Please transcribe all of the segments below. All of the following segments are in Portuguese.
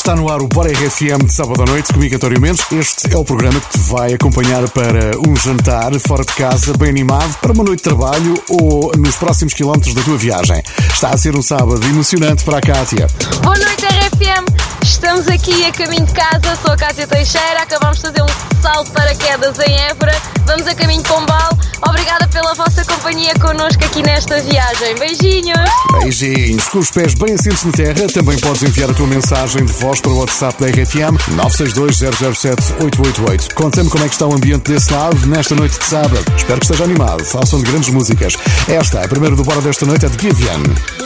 Está no ar o Bora RFM de sábado à noite, comigo António Mendes. Este é o programa que te vai acompanhar para um jantar fora de casa, bem animado, para uma noite de trabalho ou nos próximos quilómetros da tua viagem. Está a ser um sábado emocionante para a Cátia. Boa noite RFM, estamos aqui a caminho de casa, sou a Cátia Teixeira, acabamos de fazer um salto de paraquedas em Évora, vamos a caminho de Pombal. Obrigada pela vossa companhia connosco aqui nesta viagem. Beijinhos! Beijinhos! Com os pés bem assentos na terra, também podes enviar a tua mensagem de voz para o WhatsApp da RFM 962-007-888. Conta-me como é que está o ambiente desse lado nesta noite de sábado. Espero que esteja animado, ao som de grandes músicas. Esta, a primeira do Bora desta noite, é de Givian.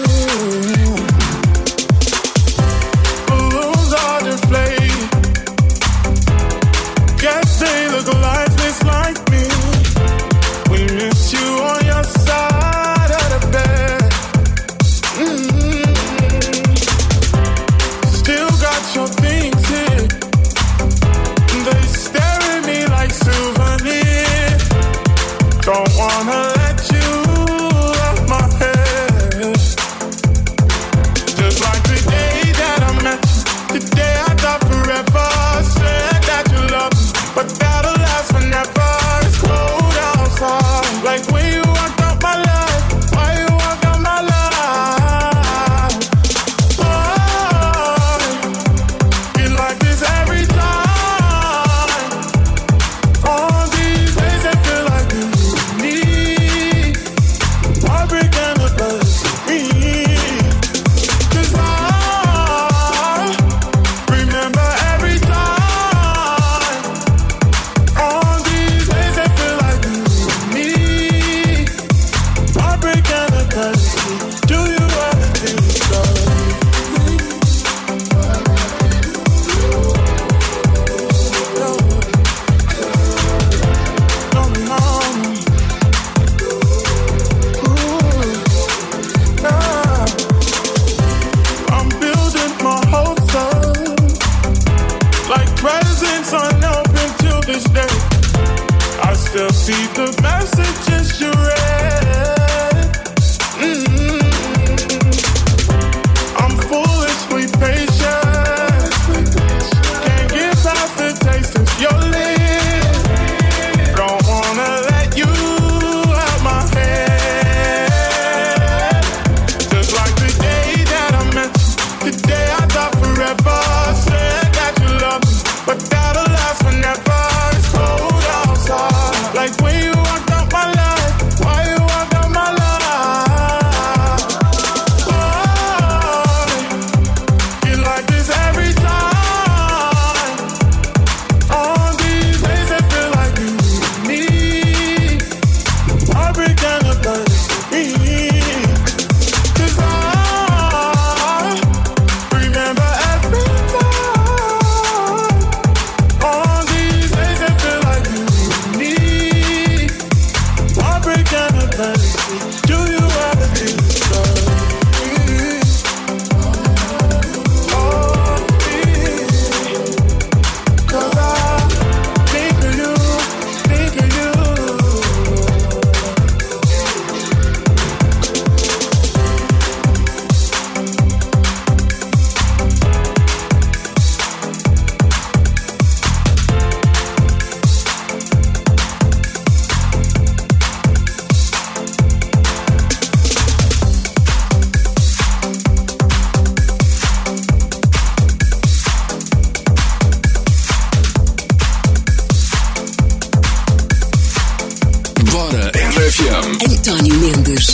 António Mendes.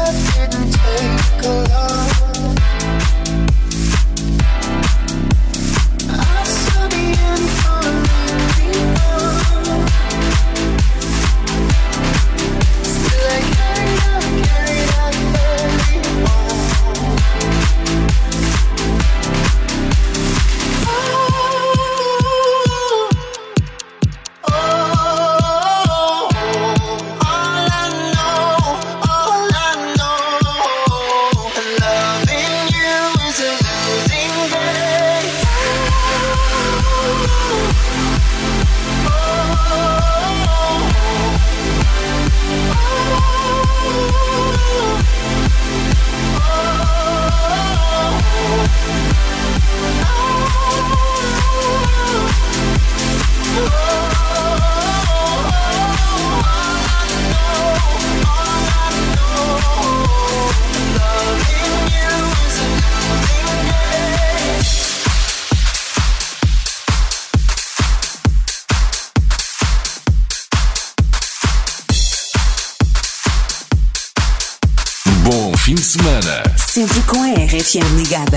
Fim de semana. Sempre com a RFM ligada.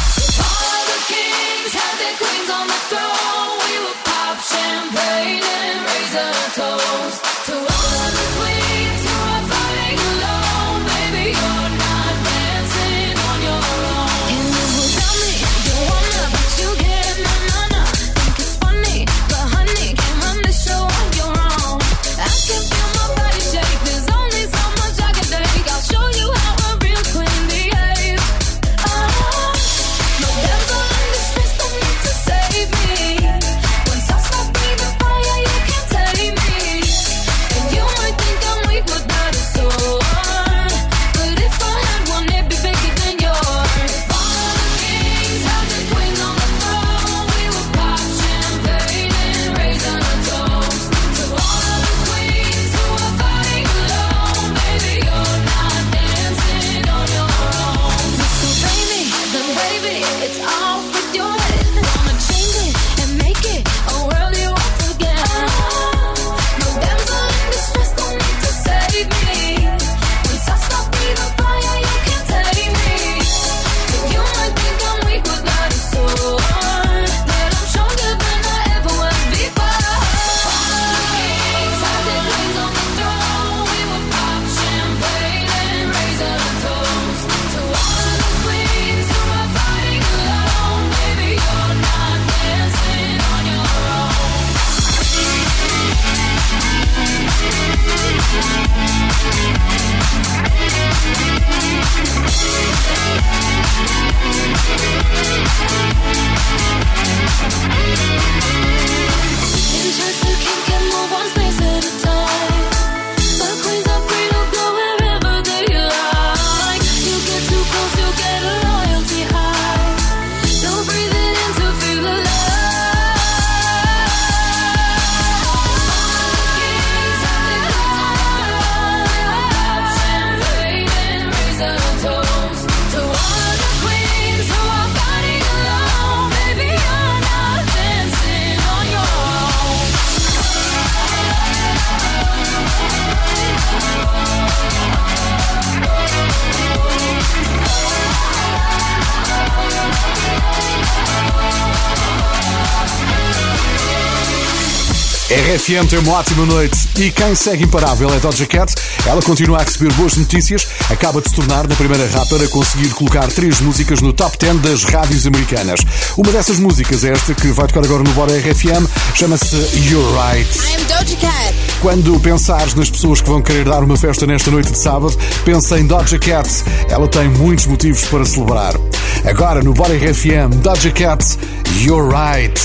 RFM tem uma ótima noite e quem segue imparável é Doja Cat. Ela continua a receber boas notícias, acaba de se tornar na primeira rapper a conseguir colocar 3 músicas no top 10 das rádios americanas. Uma dessas músicas é esta que vai tocar agora no Bora RFM, chama-se You're Right. I'm Doja Cat. Quando pensares nas pessoas que vão querer dar uma festa nesta noite de sábado, pensa em Doja Cat. Ela tem muitos motivos para celebrar. Agora no Bora RFM, Doja Cat, You're Right.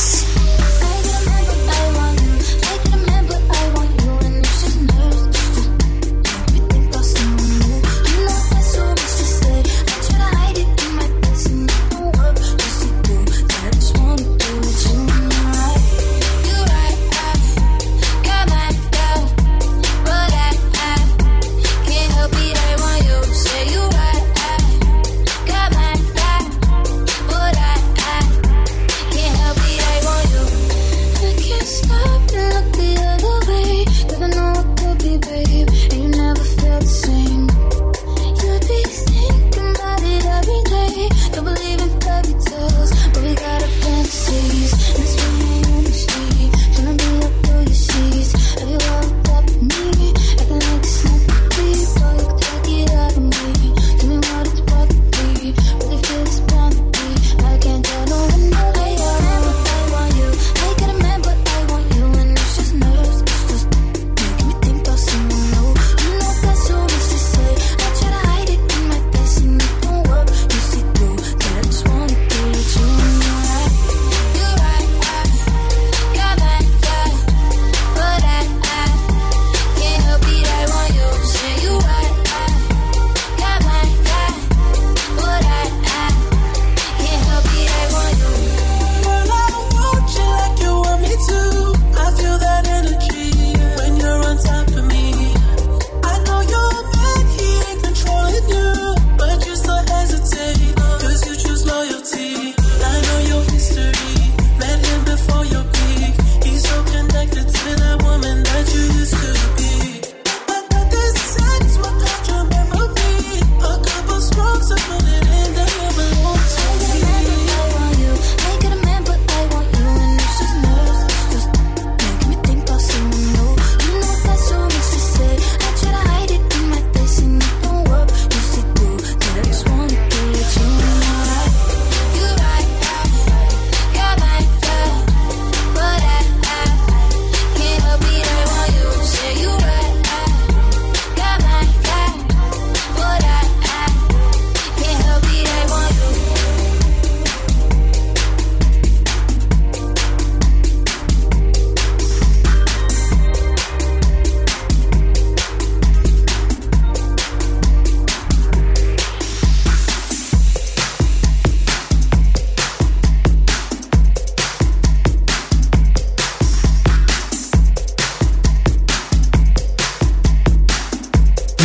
I want you.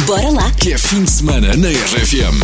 Bora lá. Que é fim de semana na RFM.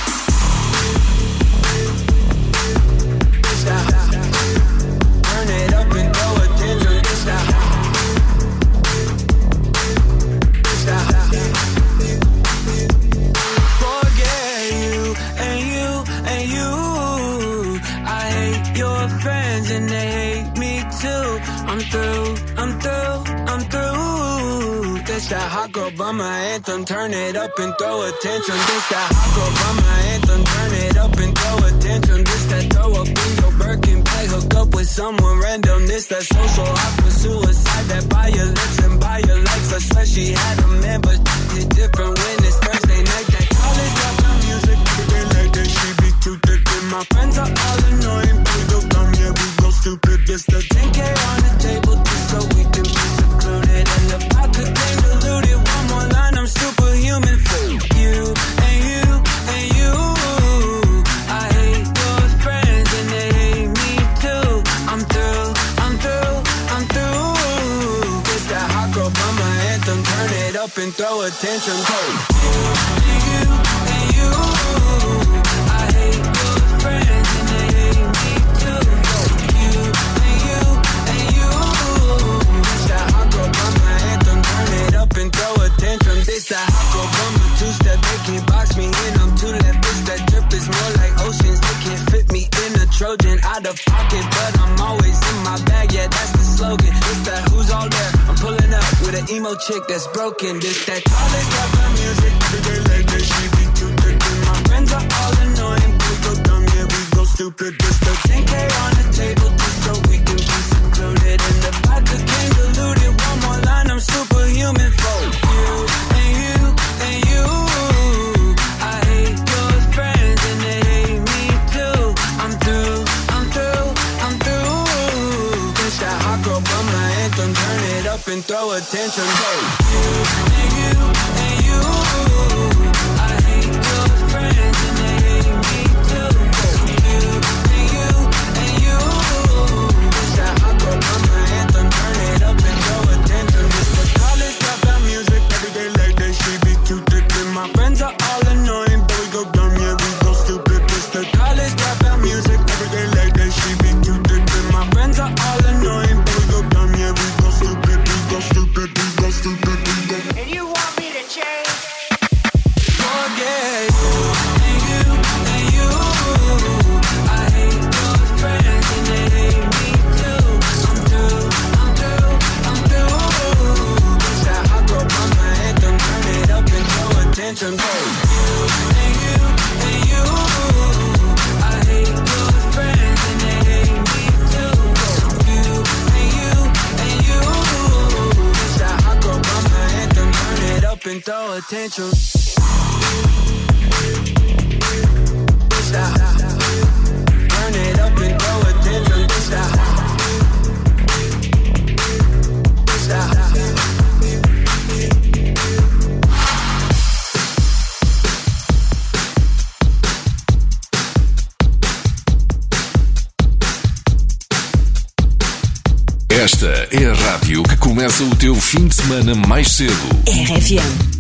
This that hot girl bummer anthem, turn it up and throw a tantrum. This that hot girl bummer anthem, turn it up and throw a tantrum. This that throw up in your Birkin bag, hook up with someone random. This that social awkward suicide, that buy your lips and buy your likes. I swear she had a man, but it's different when it's Thursday night. That college dropout music, they like that she be too thick. And my friends are all annoying, but we go dumb, yeah, we go stupid. This the 10K on the table just so we can be secluded. And if I could gain diluted, one more line, I'm superhuman for you and you and you. I hate your friends and they hate me too. I'm through. It's that hot girl bummer anthem, turn it up and throw a tantrum. Hey, you and you and you. I hate your friends and they hate me too. You and you and you. It's that hot girl bummer anthem, turn it up and throw a tantrum. This that hot girl bummer two-step, they can't box me in. I'm too left, this that drip is more like oceans. They can't fit me in a Trojan, out of pocket, but I'm always in my bag. Yeah, that's the slogan. It's that who's all there. I'm pulling up with an emo chick that's broken. This that college dropout music, they like that she be too thick. And my friends are all annoying, we go dumb, yeah, we go stupid. This the 10K on the table just so we can be secluded. And the vodka came diluted, one more line, I'm superhuman for you and you and you. I hate your friends and they hate me too. I'm through. It's that hot girl bummer anthem, turn it up and throw a tantrum. Hey, you and you and you. I hate your friends and they hate me too. You and you and you. It's that hot girl bummer anthem, turn it up and throw a tantrum. It's the college dropout music, every day like that she be too thick. And my friends are all annoying, but we go dumb, yeah, we go stupid. It's the college dropout music, every day like that she be too thick. And my friends are all annoying, but we go dumb, yeah, we go stupid, we go stupid, we go stupid, we go. And you want me to change? Forget you and you and you. I hate your friends and they hate me too. I'm through. It's that hot girl bummer anthem, turn it up and throw a tantrum. Hey, you and you and you. I hate your friends and they hate me too. You and you and you. It's that hot girl bummer anthem, turn it up and throw a tantrum. It's that turn it up and throw a tantrum. It's that Esta é a rádio que começa o teu fim de semana mais cedo. RFM.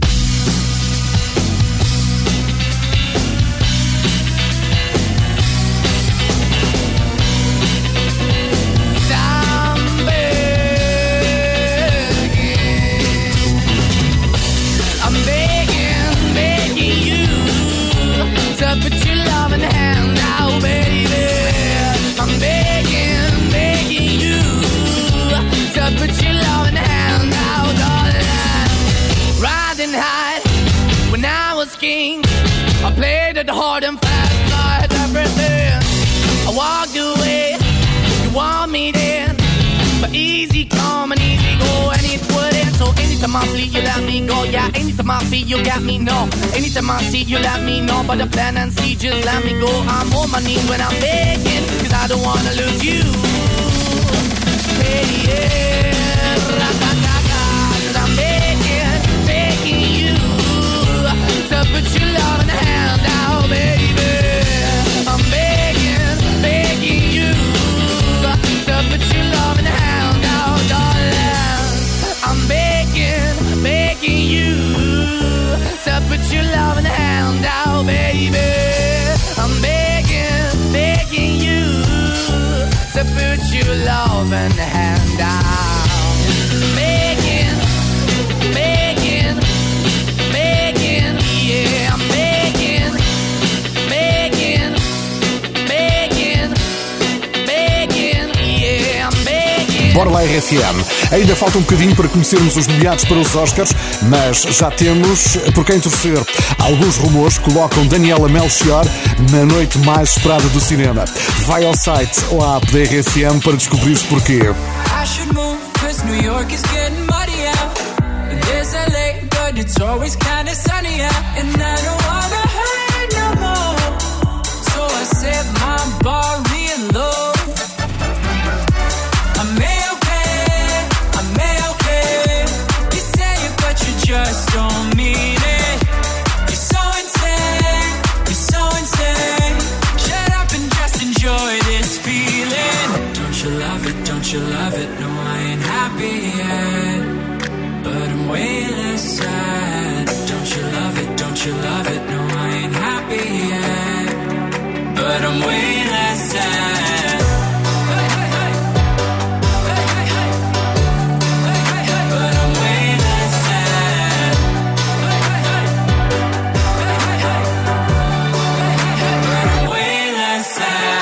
I played it hard and fast, I had everything. I walked away, you want me then, but easy come and easy go, and it wouldn't. So anytime I flee, you let me go. Yeah, anytime I feel, you got me, no. Anytime I see, you let me know. But the plan and see, just let me go. I'm on my knees when I'm begging, cause I don't wanna lose you. Hey, yeah, cause I'm begging you to put your love in the hand now, baby. I'm begging you to put your love in the hand now, darling. I'm begging you to Bora lá RFM. Ainda falta um bocadinho para conhecermos os nomeados para os Oscars, mas já temos por quem torcer. Alguns rumores colocam Daniela Melchior na noite mais esperada do cinema. Vai ao site ou à app da RFM para descobrir porquê. I should move, cause New York is getting muddy out. And there's LA, but it's always kinda sunny out. And I don't wanna hurt no more, so I set my bar real low. I'm okay. You say it, but you just don't mean it. You're so insane. Shut up and just enjoy this feeling. Don't you love it? No, I ain't happy yet, but I'm way less sad. Don't you love it? No, I ain't happy yet, but I'm way less sad. But I'm way less sad. But I'm way less sad.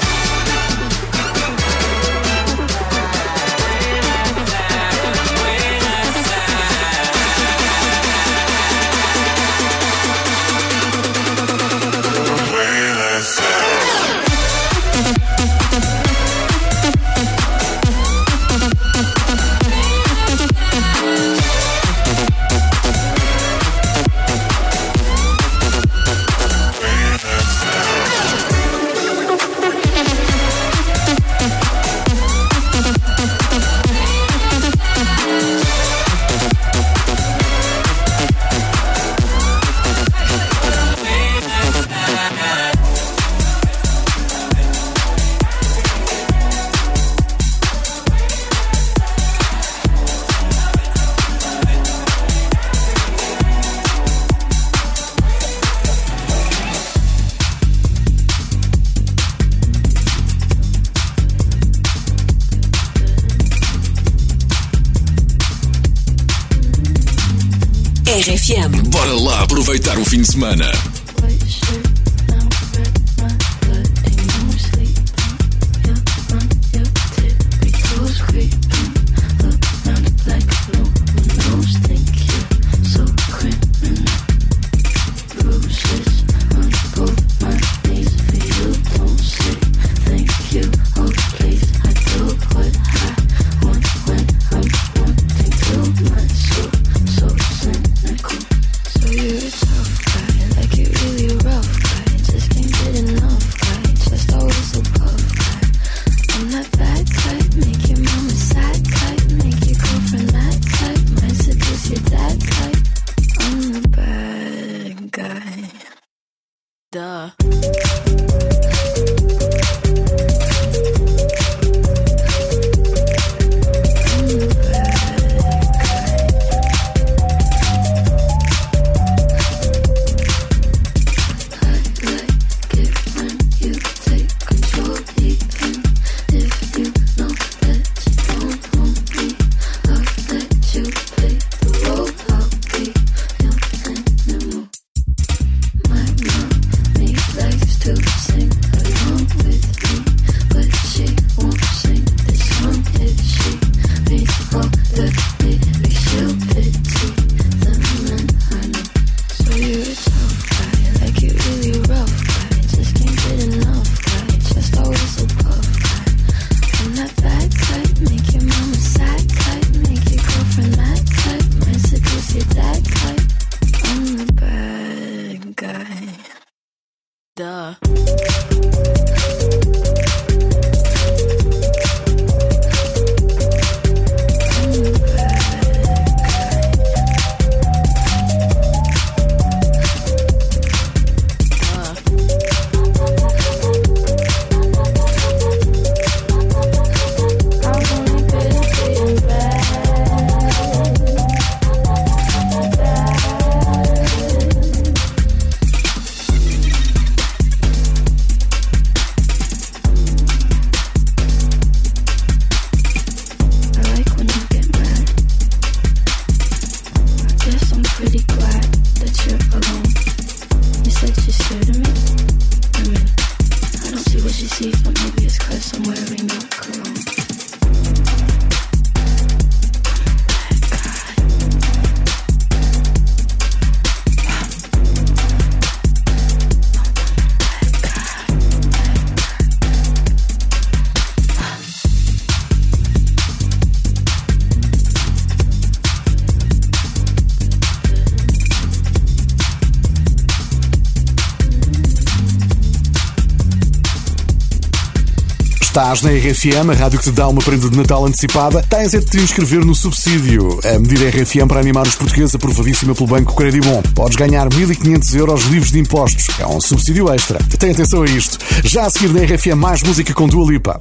RFM. Bora lá aproveitar o fim de semana. Estás na RFM, a rádio que te dá uma prenda de Natal antecipada. Tens é de te inscrever no subsídio. A medida RFM para animar os portugueses, aprovadíssima pelo Banco Credibom. Podes ganhar 1.500 euros livres de impostos. É um subsídio extra. Tem atenção a isto. Já a seguir na RFM, mais música com Dua Lipa.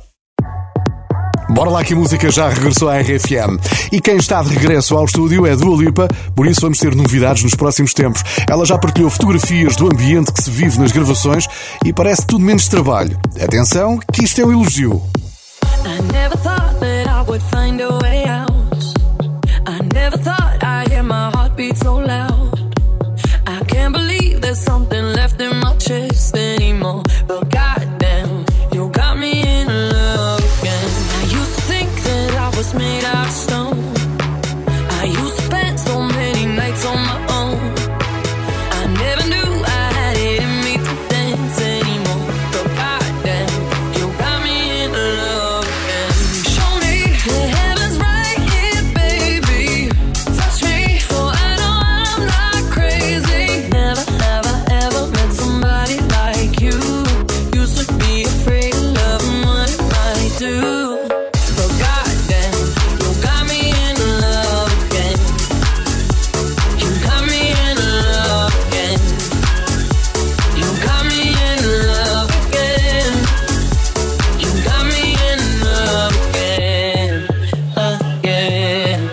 Bora lá que a música já regressou à RFM. E quem está de regresso ao estúdio é Dua Lipa, por isso vamos ter novidades nos próximos tempos. Ela já partilhou fotografias do ambiente que se vive nas gravações e parece tudo menos trabalho. Atenção, que isto é um elogio. I never thought that I would find a way out. I never thought I'd hear my heartbeat so loud. I can't believe there's something left in my chest anymore. But goddamn, you got me in love again. I used to think that I was made out of stone. I used to spend so many nights on my own. I never knew I had it in me to dance anymore. But goddamn, you got me in love again. Show me the heavens right here, baby. Touch me so I know I'm not crazy. Never have I ever met somebody like you. Used to be afraid of loving what it might do. But goddamn, you got me in love again. You got me in love again. You got me in love again. You got me in love again, again.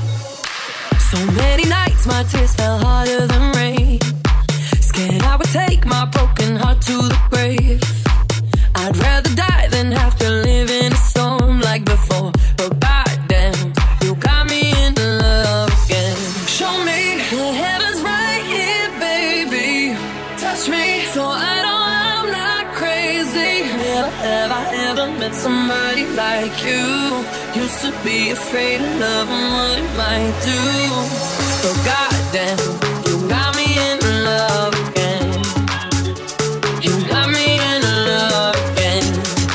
So many nights my tears fell harder than rain. Scared I would take my broken heart to the grave. I'd rather die than have to live in a storm like before. But goddamn, you got me in love again. Show me the heavens right here, baby. Touch me so I know I'm not crazy. Never have I ever met somebody like you. Used to be afraid of love and what it might do. But goddamn, you got me in love again. You got me in love again.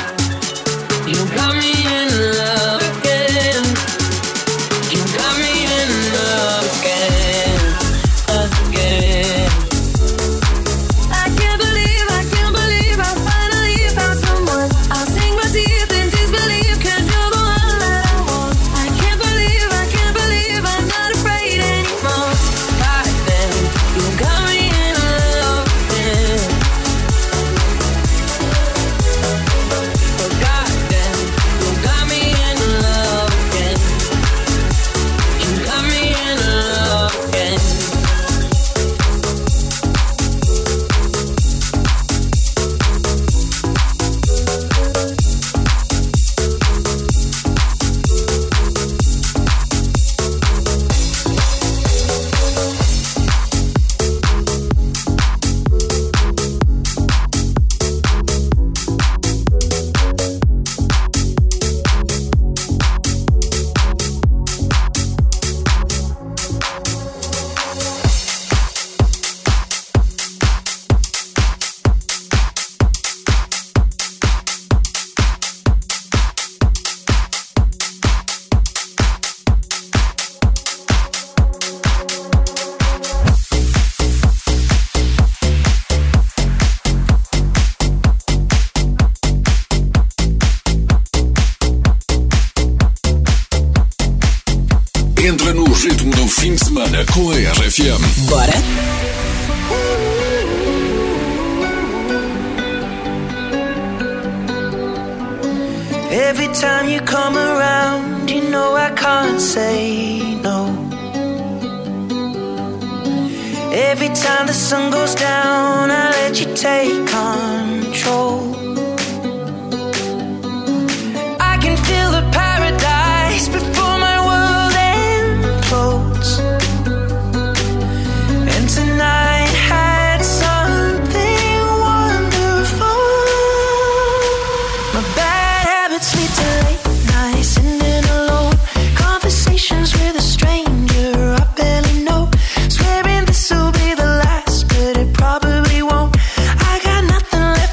You got me in love again. You got me in love again, again. I can't believe I finally found someone. I'll sink my teeth in disbelief 'cause you're the one that I want. I can't believe I'm not afraid anymore. Goddamn, you got me in love again. But goddamn, you got me in love again. You got me in love again. Entra no ritmo do fim de semana com a RFM. Bora? Every time you come around, you know I can't say no. Every time the sun goes down, I let you take control. I can feel the paradise before my world implodes. And tonight had something wonderful. My bad habits lead to late nights, sitting alone. Conversations with a stranger I barely know. Swearing this'll be the last, but it probably won't. I got nothing left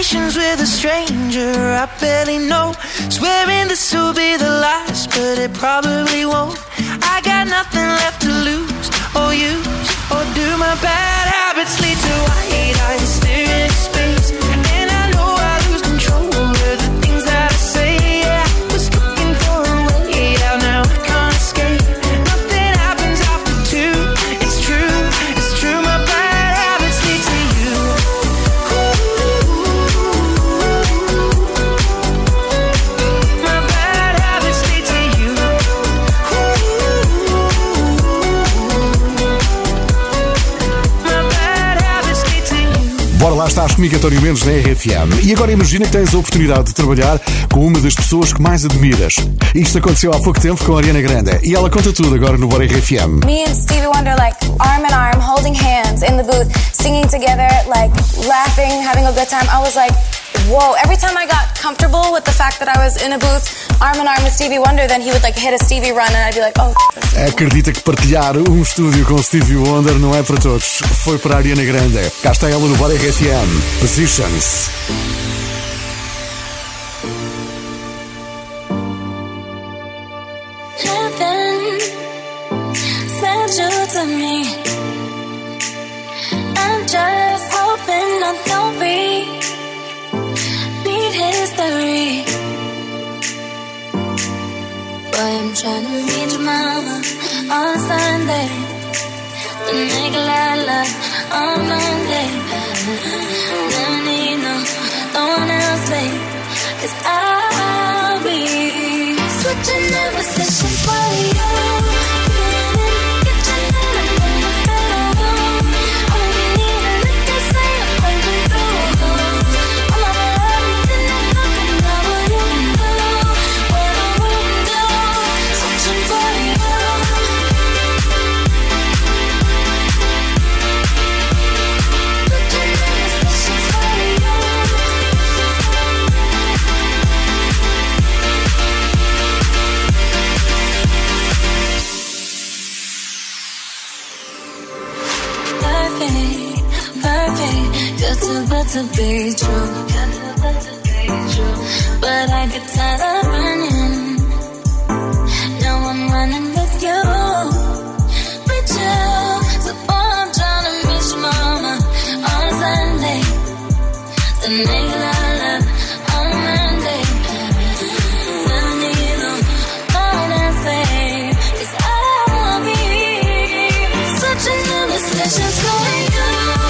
conversations with a stranger I barely know, swearing this will be the last, but it probably won't. I got nothing left to lose or use, or do my bad habits lead to white eyes staring at space? And I know I lose control of the things that I say. Yeah, I was looking for a way out, now I can't escape. Nothing happens after two. It's true, my bad habits lead to you. My bad habits lead to you. My bad habits lead to you. Bora lá, estás comigo, António Mendes, na RFM. E agora imagina que tens a oportunidade de trabalhar com uma das pessoas que mais admiras. Isto aconteceu há pouco tempo com a Ariana Grande. E ela conta tudo agora no Bora RFM. Me and Stevie Wonder, like, arm in arm, holding hands in the booth, singing together, like, laughing, having a good time. I was like, whoa. Every time I got comfortable with the fact that I was in a booth, arm in arm with Stevie Wonder, then he would, like, hit a Stevie run and I'd be like, oh, that's Stevie. Acredita que partilhar um estúdio com Stevie Wonder não é para todos. Foi para a Ariana Grande. Cá está ela no Bora RFM. Positions. Heaven sent you to me. I'm just hoping I don't repeat history. Boy, I'm trying to reach your mama on Sunday, to make a lot of love on Monday. Never need no one else, babe, 'cause I'll be switching up positions for you. Good to be true, but I get tired of running. Now I'm running with you, so I'm trying to miss your mama on Sunday, to make a lot of love on Monday. Never need no one else, babe, 'cause I'll be switching the positions for you.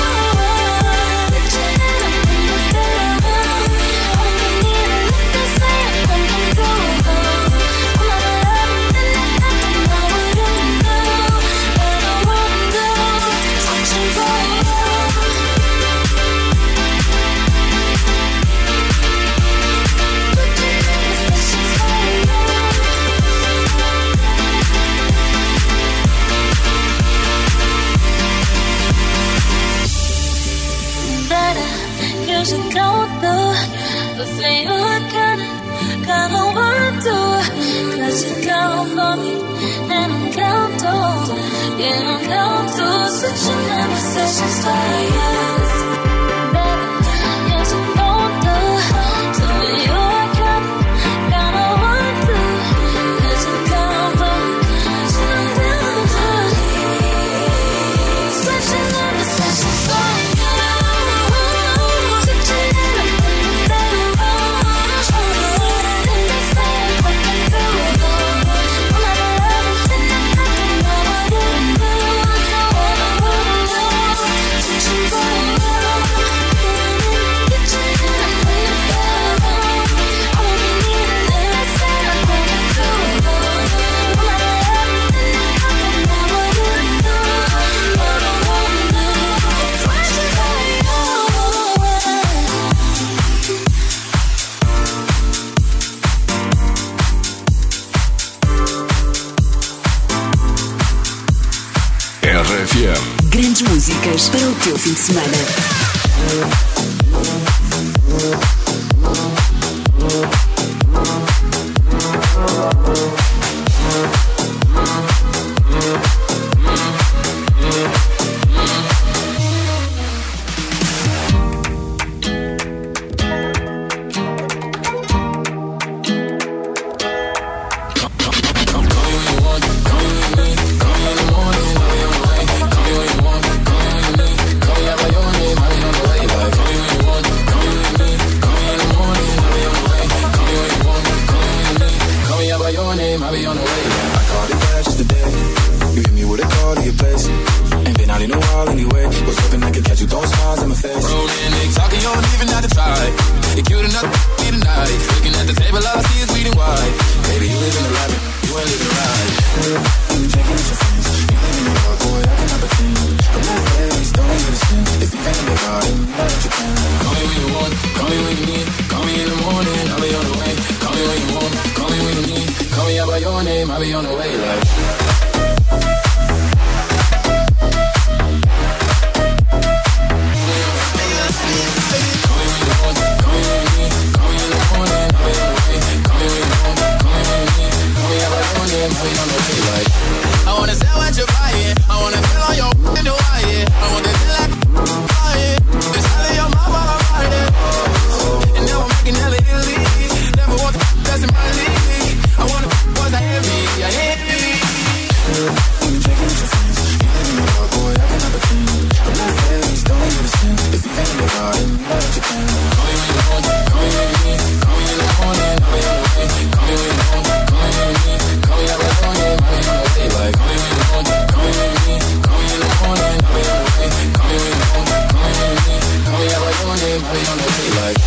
RFM. Grandes músicas para o teu fim de semana. on the way. Call me when you want, call me when you need. Call me out by your name, I'll be on the way like. I wanna sell what you're buying. I wanna feel on your in Hawaii. I wanna feel like flying. Just tell your mama I'm riding. And now I'm making hella Italy. Never want the best in my league. I wanna boys I heavy, I heavy. When you checking with your friends, you live in the world, boy, I can have a thing. I'm not fairies, don't let you to sin. If you ain't in your garden, you know that you can. Call me when you want, call me when you need. Call me in the morning, I'll be on the way. Call me when you want, call me when you need. Call me out by your name, I'll be on the way like. Call me when you want, call me when you need. Call me in the morning, I'll be on the way. Call me when you want, call me when you need. Call me out by your name, I'll be on the way like.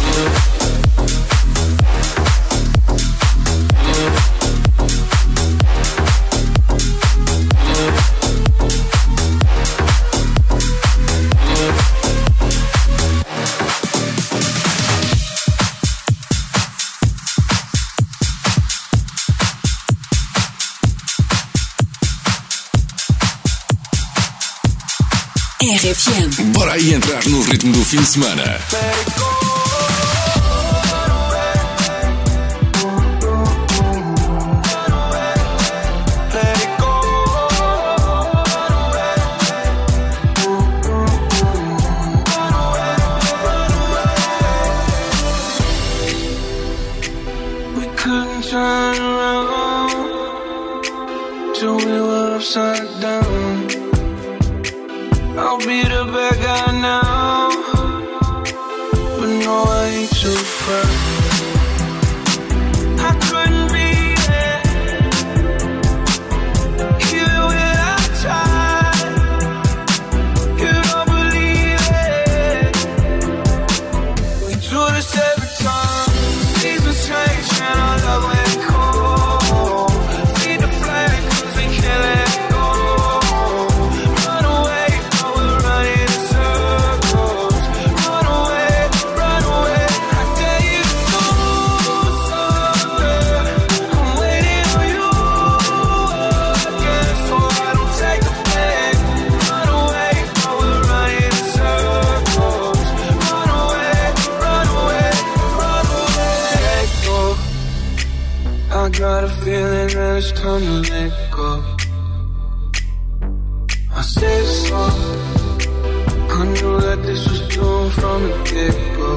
RFM. Bora aí entrar no ritmo do fim de semana. We couldn't turn around till we were upside down. I'll be the bad guy now, but no, I ain't too proud. I couldn't be there, even when I tried. You don't believe it. We do this every time. Seasons change and our love went cold. Feed the flame 'cause we can't let go. Run away, but we're running in circles. Run away, run away. I dare you to do something. I'm waiting on you again, so I don't take the blame. Run away, but we're running in circles. Run away, run away, run away. Let go. I got a feeling that it's time to let go. I said so. I knew that this was doomed from the get-go.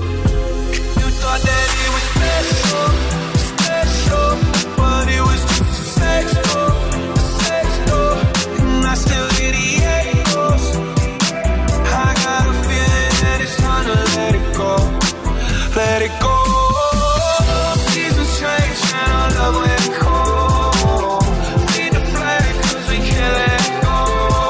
You thought that it was special, special, but it was just a sex door, and I still hear the echoes. I got a feeling that it's time to let it go, let it go. Seasons change and our love went cold. Feed the flame 'cause we can't let go.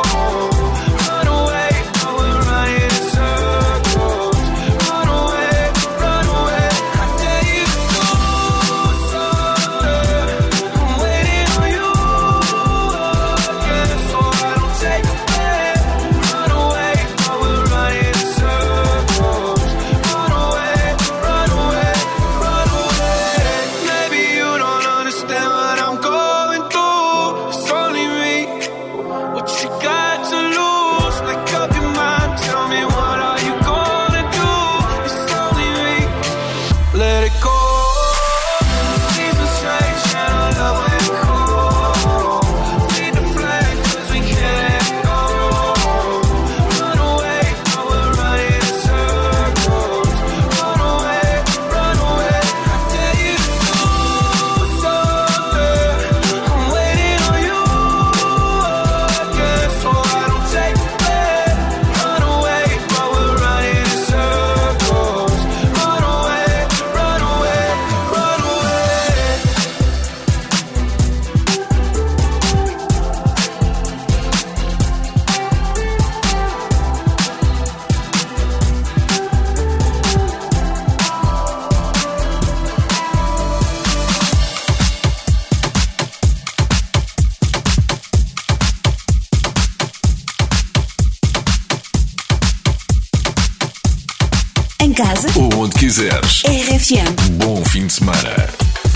Run away, but we're running in circles. Run away, run away. I dare you to do something. I'm waiting on you again, so I don't take the blame. Run away, but we're running in circles. Run away, run away, run away. Maybe you don't understand what I'm going through. It's only me. What you got to lose? Make up your mind. Tell me what are you gonna do? It's only me. Let it go. Seasons change and our love went cold. Feed the flame 'cause we can't let go. Run away, but we're running in circles. Run away, run away. I dare you to do something. I'm waiting on you again, so I don't take the blame. Run away, but we're running in circles. Run away, run away, run away. Em casa, Ou onde quiseres. RFM. Bom fim de semana.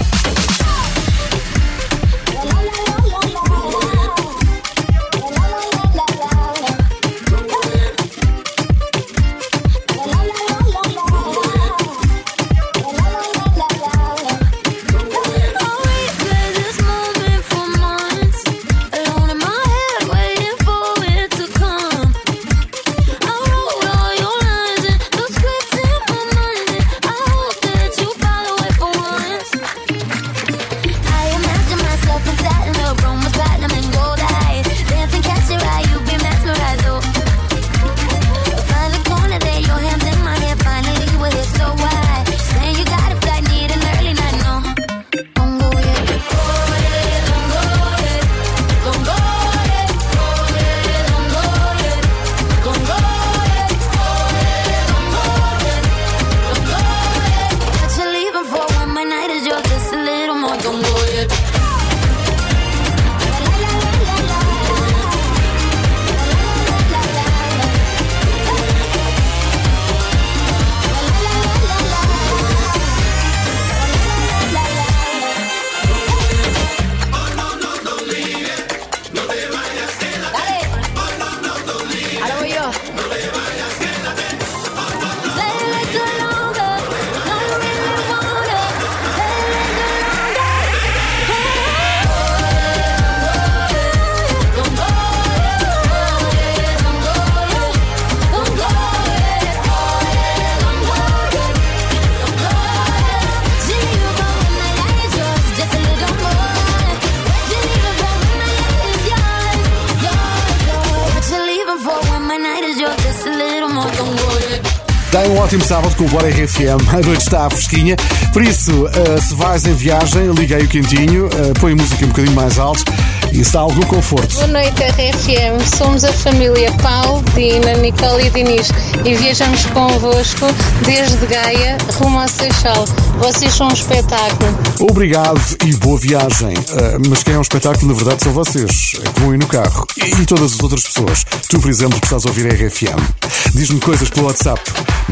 Tem um ótimo sábado com o Bora RFM. A noite está fresquinha. Por isso, se vais em viagem, liga aí o quentinho, põe a música um bocadinho mais alto e se dá algum conforto. Boa noite, RFM. Somos a família Paulo, Dina, Nicole e Dinis e viajamos convosco desde Gaia rumo ao Seixal. Vocês são um espetáculo. Obrigado e boa viagem. Mas quem é um espetáculo, na verdade, são vocês, que vão ir no carro. E todas as outras pessoas. Tu, por exemplo, que estás a ouvir a RFM. Diz-me coisas pelo WhatsApp.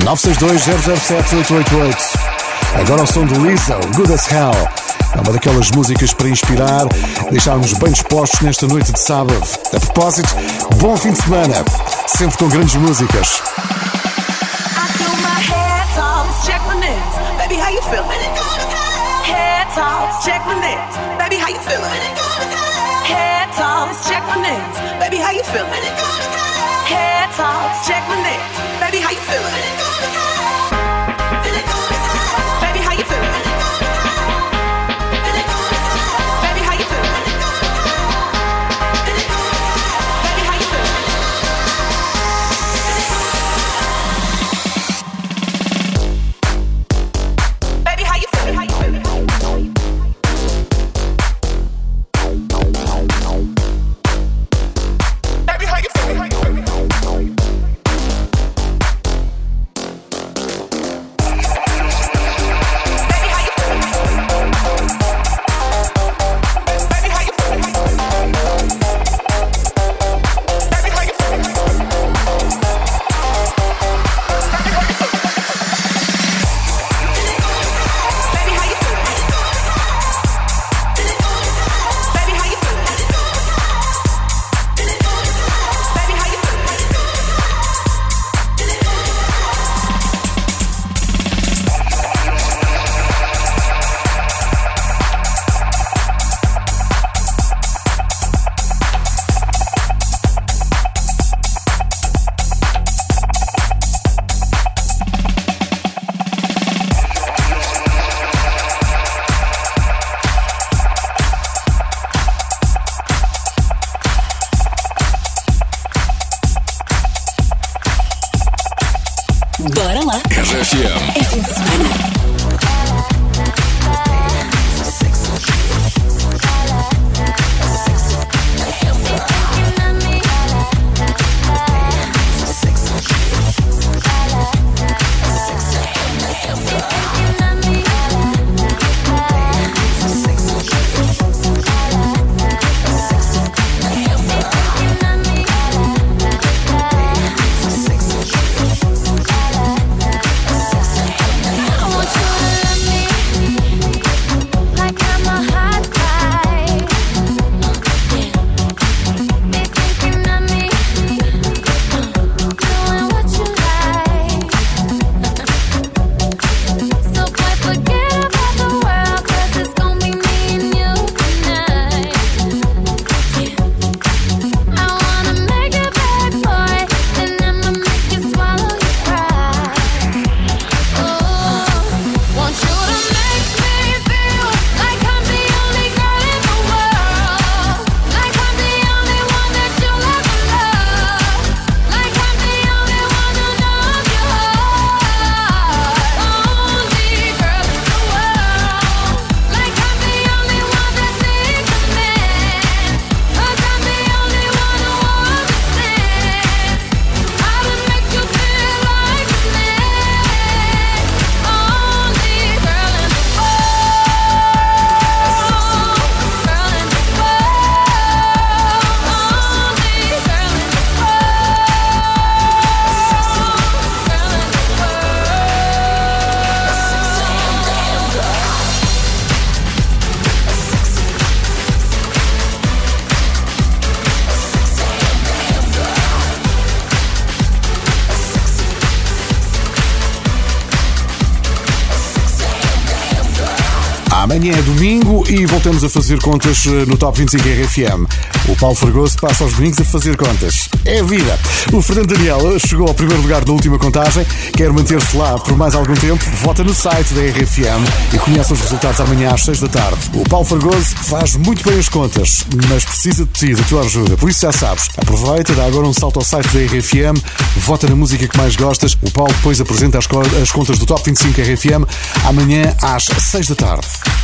962-007-888. Agora o som do Lizzo, Good as Hell. É uma daquelas músicas para inspirar, deixar-nos bem dispostos nesta noite de sábado. A propósito, bom fim de semana. Sempre com grandes músicas. Check my nails, baby, how you feeling? Head toss, check my nails, baby, how you feeling? Head toss, check my nails, baby, how you feeling? Head toss, check my nails, baby, how you feeling? Baby, how you feeling? Baby, how you feeling? Baby, how you feeling? Baby, how you feeling? How you feeling? Baby, how you feeling? Amanhã é domingo e voltamos a fazer contas no Top 25 RFM. O Paulo Fragoso passa aos domingos a fazer contas. É a vida. O Fernando Daniel chegou ao primeiro lugar na última contagem. Quer manter-se lá por mais algum tempo? Vota no site da RFM e conhece os resultados amanhã às 6 da tarde. O Paulo Fragoso faz muito bem as contas, mas precisa de ti, da tua ajuda. Por isso já sabes, aproveita, dá agora um salto ao site da RFM, vota na música que mais gostas. O Paulo depois apresenta as contas do Top 25 RFM amanhã às 6 da tarde.